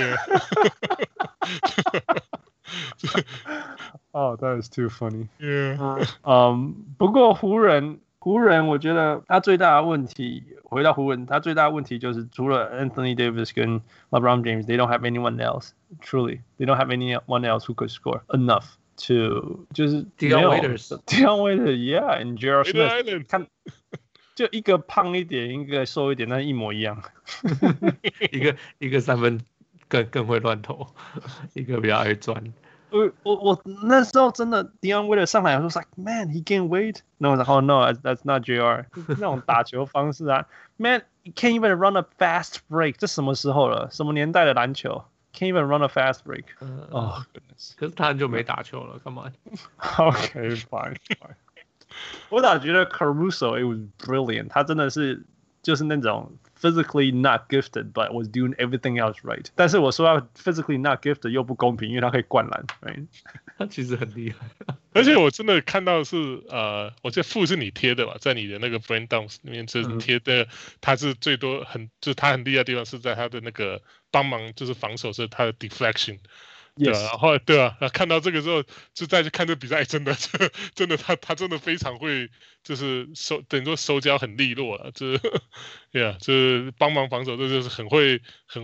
Oh, that is too funny. Yeah. 不過湖人，我覺得他最大的問題，回到湖人，他最大的問題就是除了 Anthony Davis 跟 LeBron James, they don't have anyone else. Truly, they don't have anyone else who could score enough to 就是 Dion Waiters, yeah, and J.R. Smith 看。就一個胖一點，一個瘦一點，但一模一樣。 一個3分更會亂投，一個比較愛鑽。 我那時候真的 Dion Waiters 上來，我說 like man he gained weight， 那我說 oh no that's not JR， 那種打球方式啊 ，man you can't even run a fast break， 這什麼時候了？什麼年代的籃球 ？Can't even run a fast break。Oh goodness， 可是他很久沒打球了，幹嘛 ？Okay, fine。我倒覺得 Caruso it was brilliant， 他真的是就是那種 physically not gifted but was doing everything else right。但是我說要 physically not gifted 又不公平，因為他可以灌籃 ，right？ 他其實很厲害。 而且我真的看到是我記得副是你貼的吧，在你的那個 Brain Dumps 裡面就是貼的，他是最多就是他很厲害的地方是在他的那個幫忙就是防守是他的 deflection。對啊，然後對啊，看到這個之後，就再去看這個比賽，真的他真的非常會，就是等於說手腳很利落了，就是，yeah， 就是幫忙防守，這就是很會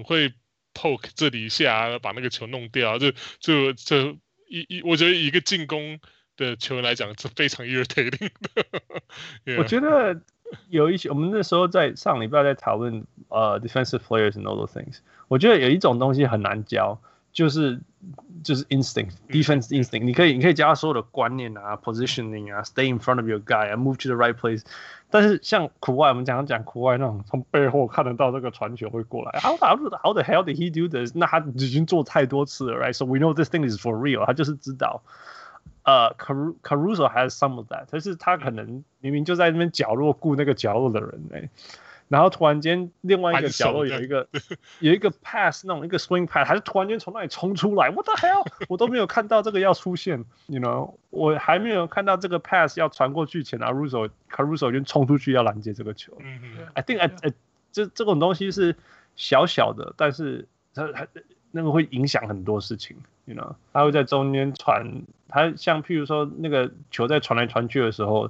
poke 這裡一下，把那個球弄掉，我覺得一個進攻的球員來講是非常 irritating 的。 我覺得有一些，我們那時候在上禮拜在討論defensive players and all those things， 我覺得有一種東西很難教。就是 instinct, defense instinct， 你可以教他所有的觀念啊 ，positioning 啊 ，stay in front of your guy 啊 ，move to the right place。但是像Kawhi，我們講Kawhi那種從背後看得到這個傳球會過來 ，how the hell did he do this？ 那他已經做太多次了 ，right？So we know this thing is for real。他就是知道。Caruso has some of that， 但是他可能明明就在那邊角落顧那個角落的人，欸然後突然間，另外一個角落有一個 pass， 那種一個 swing pass， 還是突然間從那裡衝出來 ，What the hell？ 我都沒有看到這個要出現 ，you know， 我還沒有看到這個 pass 要傳過去前，Caruso 已經衝出去要攔截這個球。I think 這種東西是小小的，但是它那個會影響很多事情 ，you know， 他會在中間傳，他像譬如說那個球在傳來傳去的時候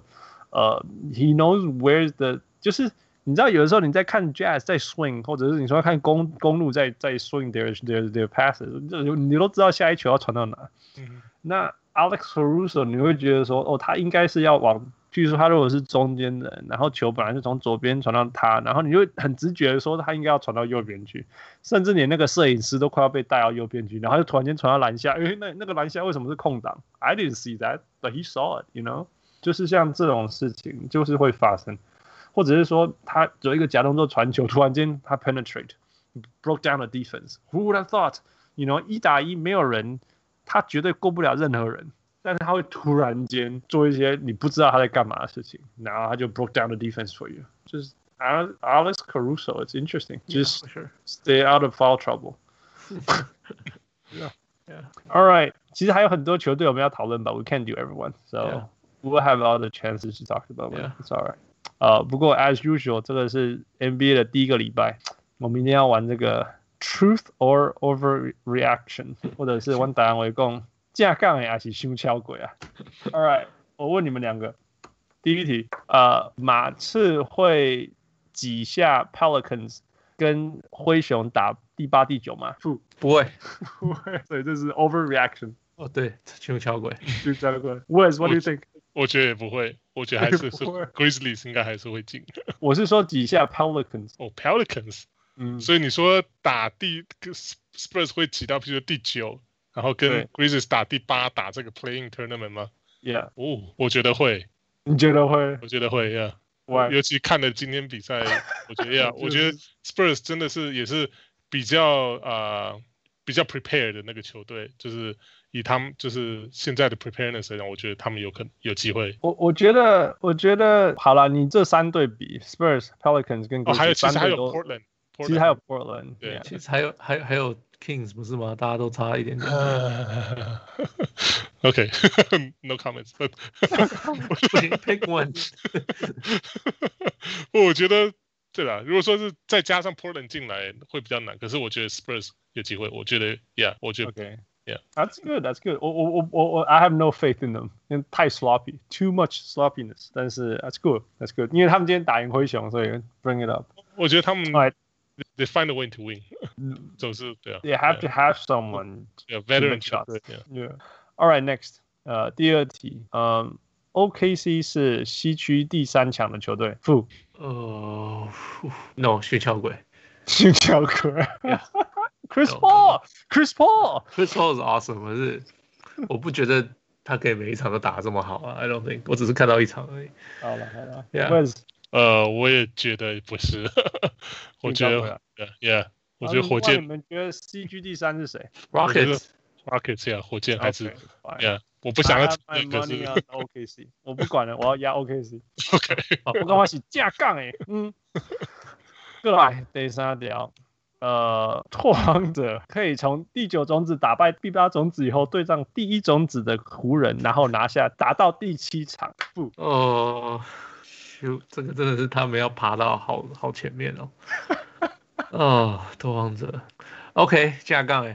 ，he knows where's the， 就是。你知道有的時候你在看 Jazz 在 swing， 或者是你說看公路在 swing their passes， 你都知道下一球要傳到哪。那 Alex Caruso 你會覺得說，他應該是要往，譬如說他如果是中間的人，然後球本來是從左邊傳到他，然後你就很直覺的說他應該要傳到右邊去，甚至連那個攝影師都快要被帶到右邊去，然後就突然間傳到籃下，那個籃下為什麼是空檔 ？I didn't see that, but he saw it, you know， 就是像這種事情就是會發生。或者是說他有一個假動作傳球，突然間他 penetrate broke down the defense. Who would have thought? You know， 1打1沒有人，他絕對過不了任何人，但是他會突然間做一些你不知道他在幹嘛的事情，然後他就 broke down the defense for you. just Alex Caruso. It's interesting. Just sure. stay out of foul trouble. Yeah. All right. 其實還有很多球隊我們要討論吧 We can't do everyone. So we'll have other chances to talk about it. It's all right. 不過 as usual 這個是 NBA 的第一個禮拜，我們一定要玩這個 Truth or Overreaction， 或者是我答案為講正港的還是傷超過啊。All right， 我問你們兩個，第一題，馬刺會擠下 Pelicans 跟灰熊打第8、第9嗎？ 不會， 所以這是 overreaction。 哦，對，傷超過。 Wes, what do you think？ 我覺得也不會，我覺得還是 Grizzlies 應該還是會進。 我是說擠下 Pelicans。 哦 ，Pelicans。所以你說打Spurs 會擠到，譬如說第9，然後跟 Grizzlies 打第8，打這個 Play-in Tournament 嗎 ？Yeah。 我覺得會。 你覺得會？ 我覺得會 ，Yeah。尤其看了今天比賽，我覺得 Yeah， 我覺得 Spurs 真的是也是比較 prepared 的那個球隊，就是以他們就是現在的 preparedness 來講，我覺得他們有機會。 我覺得好了，你這3隊比 Spurs、Pelicans 跟 Grizzlies， 其實還有 Portland。 其實還有 Portland， 對，其實還有 Kings 不是嗎？大家都差一點點。 OK， no comments。 Pick one。 我覺得對啦，如果說是再加上 Portland 進來會比較難，可是我覺得 Spurs 有機會。我覺得 ，Yeah， 我覺得 ，OK，Yeah，That's good，That's good。我 I have no faith in them， 因為太 sloppy，too much sloppiness。但是 That's good，That's good， 因為他們今天打贏灰熊，所以 bring it up。 我覺得他們。They find a way to win. 就是對啊。 They have to have someone. Veteran shots. Yeah. All right, next. 第二題。OKC 是西區第3強的球隊。 No， 雪橇鬼。 雪橇鬼。Chris Paul. Chris Paul is awesome， 可是我不覺得他可以每一場都打得這麼好啊。I don't think， 我只是看到一場而已。 好了。 Yeah。 我也覺得不是，我覺得 ，Yeah， 我覺得火箭。 你們覺得西區第3是誰 ？Rockets 呀，火箭還是 Yeah， 我不想要可是 OKC， 我不管了，我要壓 OKC。OK， 我剛剛是架槓誒，過來第3條，拓荒者可以從第9種子打敗第8種子以後，對上第1種子的湖人，然後打到第7場。 這個真的是他們要爬到好前面哦。拓荒者 ，OK， 架槓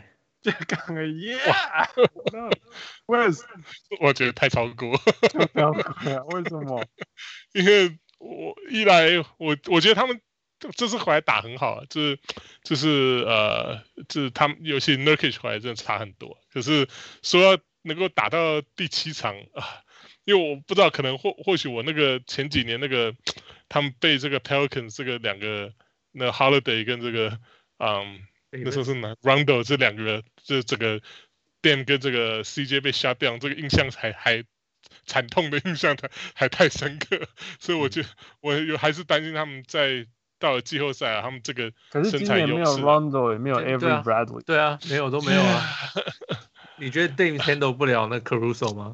，Yeah，Wes， 我覺得太超過。 為什麼？ 因為一來我覺得他們這次回來打很好，就是他們尤其 Nurkic 回來真的差很多。可是說要能夠打到第7場啊。因為我不知道，可能或許我那個前幾年那個他們被這個 Pelicans 這個兩個那 Holiday 跟這個那時候是哪 Rondo 這兩個這整個 Dame 跟這個 CJ 被 shut down 這個印象還慘痛的印象還太深刻，所以我還是擔心他們到了季後賽啊，他們這個身材優勢。可是今年沒有 Rondo 也沒有 Avery Bradley， 對啊，沒有都沒有啊。你覺得 Dame handle 不了那 Caruso 嗎？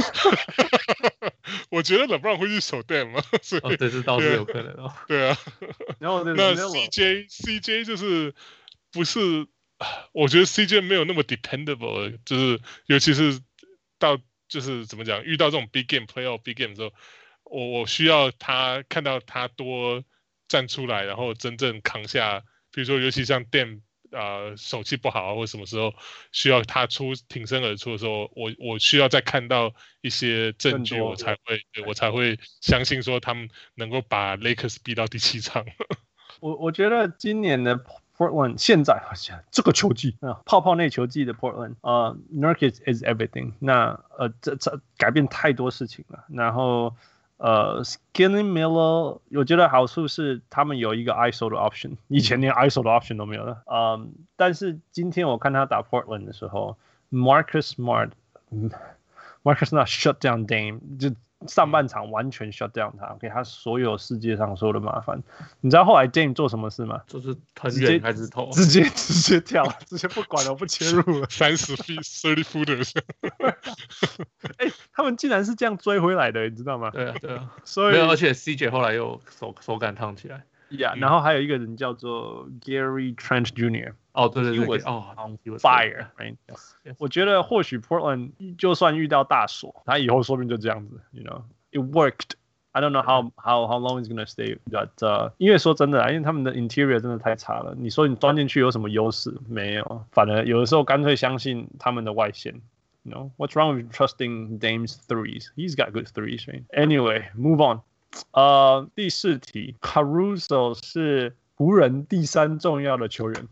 我覺得 LeBron 會去守 Dame 嘛，所以這是倒是有可能哦。 對啊，那 CJ 就是不是？我覺得 CJ 沒有那麼 dependable， 就是尤其是就是怎麼講，遇到這種 big game、playoff big game 的時候，我需要他看到他多站出來，然後真正扛下。比如說，尤其像 Dame。手氣不好或什麼時候需要他挺身而出的時候，我需要再看到一些證據，我才會相信說他們能夠把 Lakers 逼到第7場。 我覺得今年的 Portland 現在好像這個球季泡泡內球季的 Portland Nurkic is everything。那這改變太多事情了，然後。Skinny Miller， 我覺得好處是他們有一個 ISO 的 option， 以前連 ISO 的 option 都沒有了。但是今天我看他打 Portland 的時候 ，Marcus Smart Marcus Smart shut down Dame， 就上半場完全 shut down 他，給他所有世界上所有的麻煩。你知道後來 Dame 做什麼事嗎？ 就是很遠開始投， 直接跳，直接不管了，我不切入了。 30 feet 30 footers。 哎，他們竟然是這樣追回來的，你知道嗎？ 對啊， 所以沒有，而且 CJ 後來又手感燙起來。 然後還有一個人叫做 Gary Trent Jr. 哦，對 he was fire， right？ Yes. 我覺得或許 Portland 就算遇到大鎖，他以後說不定就這樣子 ，you know，it worked。I don't know how long it's gonna stay， but 因為說真的因為他們的 interior 真的太差了。你說你鑽進去有什麼優勢？沒有，反而有的時候乾脆相信他們的外線。You know what's wrong with trusting Dame's threes? He's got good threes, right? Anyway, move on. 第4題 ，Caruso 是湖人第3重要的球員。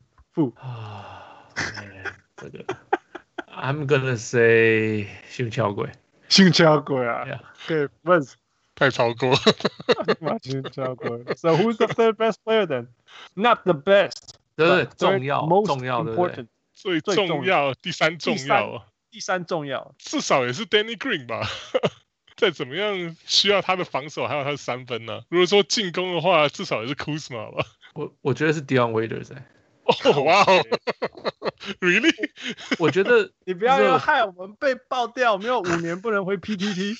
這個 I'm gonna say 性巧鬼啊。對，不是太超過。 性巧鬼。So who's the third best player then? Not the best. 對，重要 important， 最重要，第3重要。 第3重要， 至少也是 Danny Green 吧。再怎麼樣需要他的防守，還有他的3分呢？如果說進攻的話，至少也是 Kuzma 吧。 我覺得是 Dion Waiters。 哦，哇哦 ，Really？ 我覺得你不要害我們被爆掉，沒有5年不能回 PTT。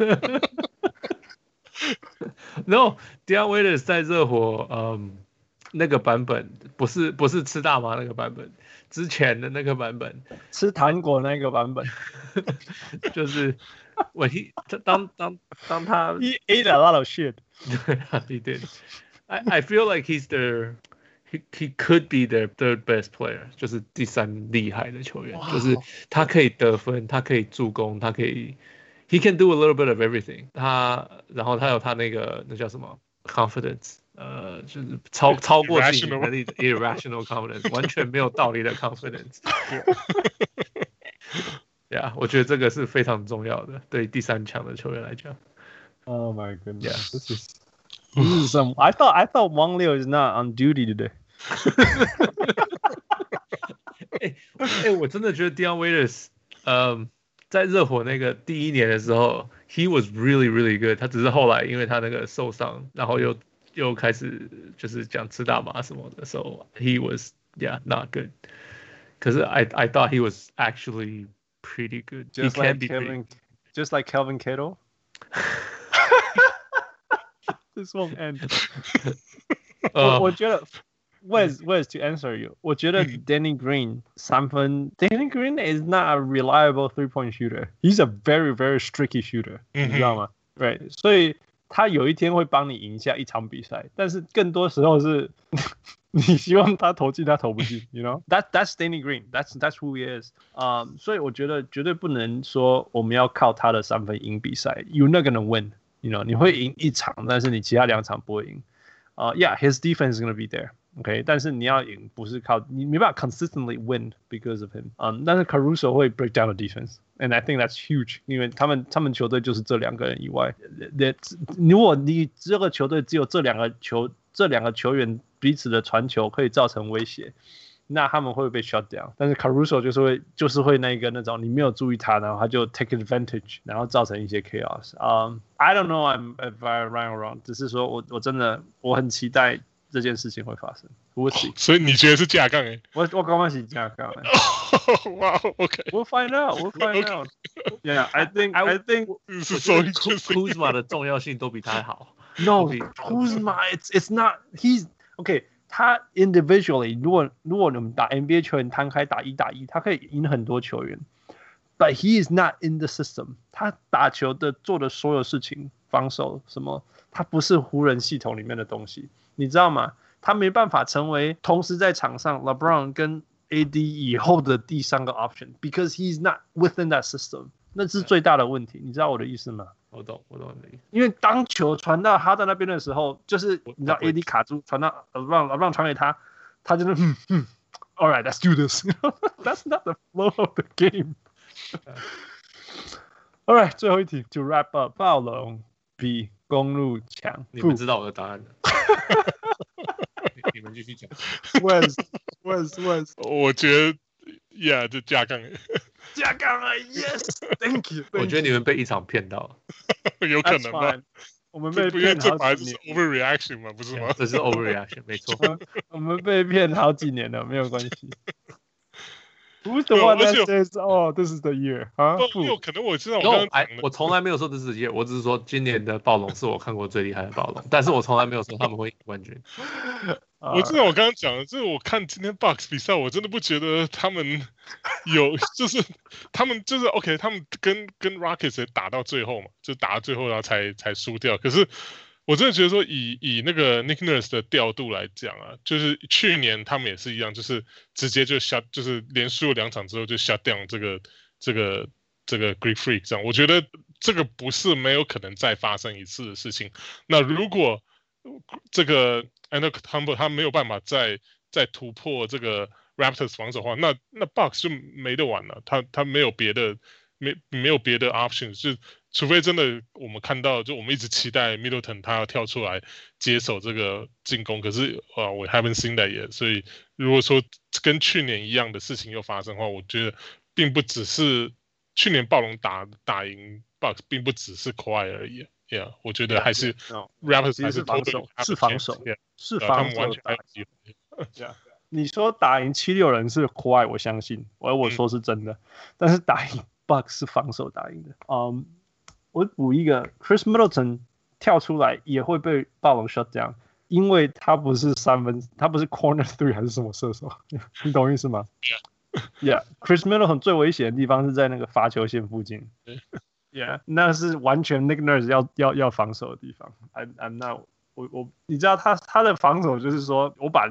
No， Dion Waiters 在熱火，那個版本不是吃大麻那個版本，之前的那個版本， 吃糖果那個版本， 就是當他 He ate a lot of shit。 對啊 ，he did。I feel like he could be their third best player， 就是第3厲害的球員，就是他可以得分，他可以助攻，他可以 ，he can do a little bit of everything。然後他有他那叫什麼 confidence。就是超過自己能力的 irrational confidence， 完全沒有道理的 confidence。我覺得這個是非常重要的，對第3強的球員來講。 Oh my goodness, this is some. I thought Wang Liu is not on duty today. 我真的覺得 Dion Waiters，在熱火那個第1年的時候 ，he was really really good。他只是後來因為他那個受傷，然後又開始就是講吃大麻什麼的 ，so he was not good。可是 I thought he was actually pretty good. Just like Kelvin Cato. This won't end. 我覺得 Wes to answer you， 我覺得 Danny Green 3分 ，Danny Green is not a reliable 3-point shooter. He's a very very streaky shooter， 你知道嗎 ？Right， 所以他有一天會幫你贏下一場比賽，但是更多時候是你希望他投進，他投不進。You know that's Danny Green. That's who he is. 所以我覺得絕對不能說我們要靠他的3分贏比賽。You're not gonna win. You know 你會贏1場，但是你其他2場不會贏。his defense is gonna be there. OK， 但是你要贏不是靠你沒辦法 consistently win because of him。但是 Caruso 會 break down the defense。And I think that's huge， 因為他們球隊就是這2個人以外，如果你這個球隊只有這兩個球員彼此的傳球可以造成威脅，那他們會被 shut down。但是 Caruso 就是會那種你沒有注意他，然後他就 take advantage， 然後造成一些 chaos。I don't know if I'm right or wrong， 只是說我真的我很期待這件事情會發生。 所以你覺得是架槓欸？ 我剛剛是架槓欸。 Wow, okay. We'll find out. Yeah, I think Kuzma 的重要性都比他好。 No, Kuzma, it's not. He's okay. 他 individually， 如果你們打 NBA 球員攤開打1打1，他可以贏很多球員。But he is not in the system。他打球的做的所有事情，防守什麼，他不是湖人系統裡面的東西，你知道嗎？他沒辦法成為同時在場上 LeBron 跟 AD 以後的第3個 option because he's not within that system， 那是最大的問題，你知道我的意思嗎？ 我懂你的意思。因為當球傳到他在那邊的時候，就是你知道 AD 卡住傳到LeBron 傳給他，他就是all right, let's do this. That's not the flow of the game. All right， 最後一題 to wrap up， 暴龍比公鹿強。 你們知道我的答案的。你們繼續講。 Wes， 我覺得，就架槓。 下崗了 ，Yes，Thank you。 我覺得你們被一場騙到了， 有可能吧？ 我們被騙好幾年， 這是 overreaction 嘛，不是嗎？ 這是 overreaction， 沒錯。 我們被騙好幾年了，沒有關係。Who's the one that says, "Oh, this is the year"？ 有可能我知道， 我從來沒有說this is the year， 我只是說今年的暴龍是我看過最厲害的暴龍，但是我從來沒有說他們會贏冠軍。 我知道我剛剛講的，就是我看今天 Bucks 比賽，我真的不覺得他們有，就是他們就是 OK， 他們跟 Rockets 打到最後嘛，就打到最後然後才輸掉。可是我真的覺得說以那個 Nick Nurse 的調度來講啊，就是去年他們也是一樣，就是直接就 shut， 就是連輸了2場之後就 shut down 這個 Greek Freak 這樣。我覺得這個不是沒有可能再發生一次的事情。那如果這個 Antetokounmpo 他沒有辦法再突破這個 Raptors 防守的話，那 Bucks 就沒得玩了。他沒有別的沒有別的 options， 就除非真的我們看到，就我們一直期待 Middleton 他要跳出來接手這個進攻，可是我 haven't seen that yet。所以如果說跟去年一樣的事情又發生的話，我覺得並不只是去年暴龍打贏 Bucks， 並不只是 Kawhi 而已。Yeah， 我覺得還是 Raptors 還是防守，是防守，是他们完全打击。你說打贏76人是 Kawhi， 我相信，我說是真的，但是打贏 Bucks 是防守打贏的。我補一個 ，Chris Middleton 跳出來也會被暴龍 shut down， 因為他不是他不是 corner three 還是什麼射手，你懂意思嗎 ？Yeah，Chris Middleton 最危險的地方是在那個罰球線附近。Yeah， 那是完全 Nick Nurse 要防守的地方。I'm not， 你知道他的防守就是說我把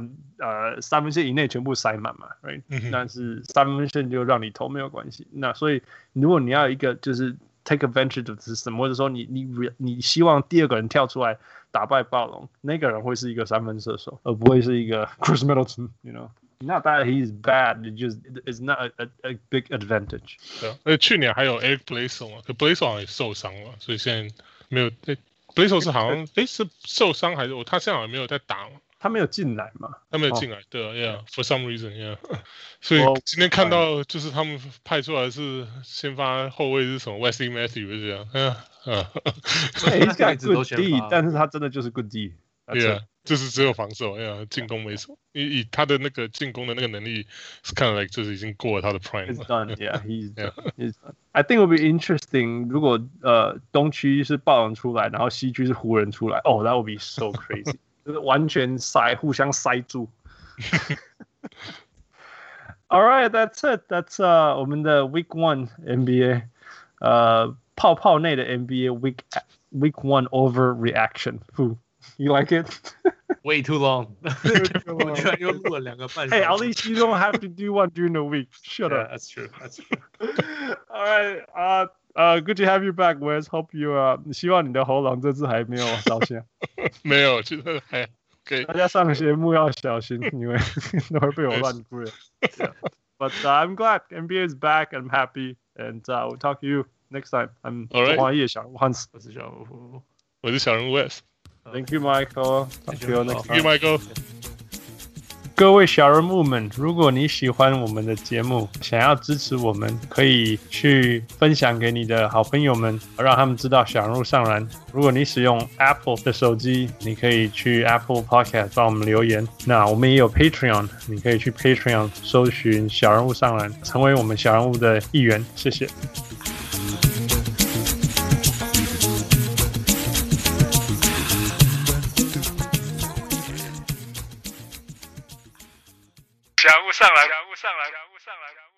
3分線以內全部塞滿嘛 ，right？ 但是3分線就讓你投沒有關係。那所以如果你要有一個就是take advantage of the system， 或者說你希望第二個人跳出來打敗暴龍，那個人會是一個3分射手，而不會是一個 Chris Middleton，you know。Not that he's bad, it's not a big advantage. 对，去年還有 Eric Bledsoe 嘛，可 Bledsoe 好像也受傷了，所以現在沒有。Bledsoe 是好像是受傷還是他現在好像沒有在打嘛？ 他沒有進來嘛？ 他沒有進來，對啊 ，for some reason， 所以今天看到就是他們派出來是先發後衛是什麼 Wesley Matthews 這樣 ，He's got good D， 但是他真的就是 good D， yeah， 就是只有防守，進攻沒什麼。以他的那個進攻的那個能力，是看來就是已經過了他的 prime。 He's done, yeah, he's done. I think it would be interesting 如果東區是暴龍出來，然後西區是湖人出來，Oh, that would be so crazy， 就是完全互相塞住。All right, that's it. That's 我們的 Week 1 NBA， 泡泡內的 NBA Week 1 overreaction. You like it? Way too long. 我居然又錄了2個半小時。 Hey, at least you don't have to do one during the week. Shut up. That's true. All right. Good to have you back, Wes. Hope you 希望你的喉嚨這次還沒有燒香。 沒有，覺得還可以。 大家上節目要小心，因為都會被我亂歸。But I'm glad NBA is back. I'm happy, and we'll talk to you next time. I'm 黃葉小人，Hans， 我是小人 Wes。Thank you, Michael. Thank you, Michael. 各位小人物們，如果你喜歡我們的節目，想要支持我們，可以去分享給你的好朋友們，讓他們知道小人物上籃。如果你使用 Apple 的手機，你可以去 Apple Podcast 幫我們留言。那我們也有 Patreon， 你可以去 Patreon 搜尋小人物上籃，成為我們小人物的一員。謝謝。 小人物上來。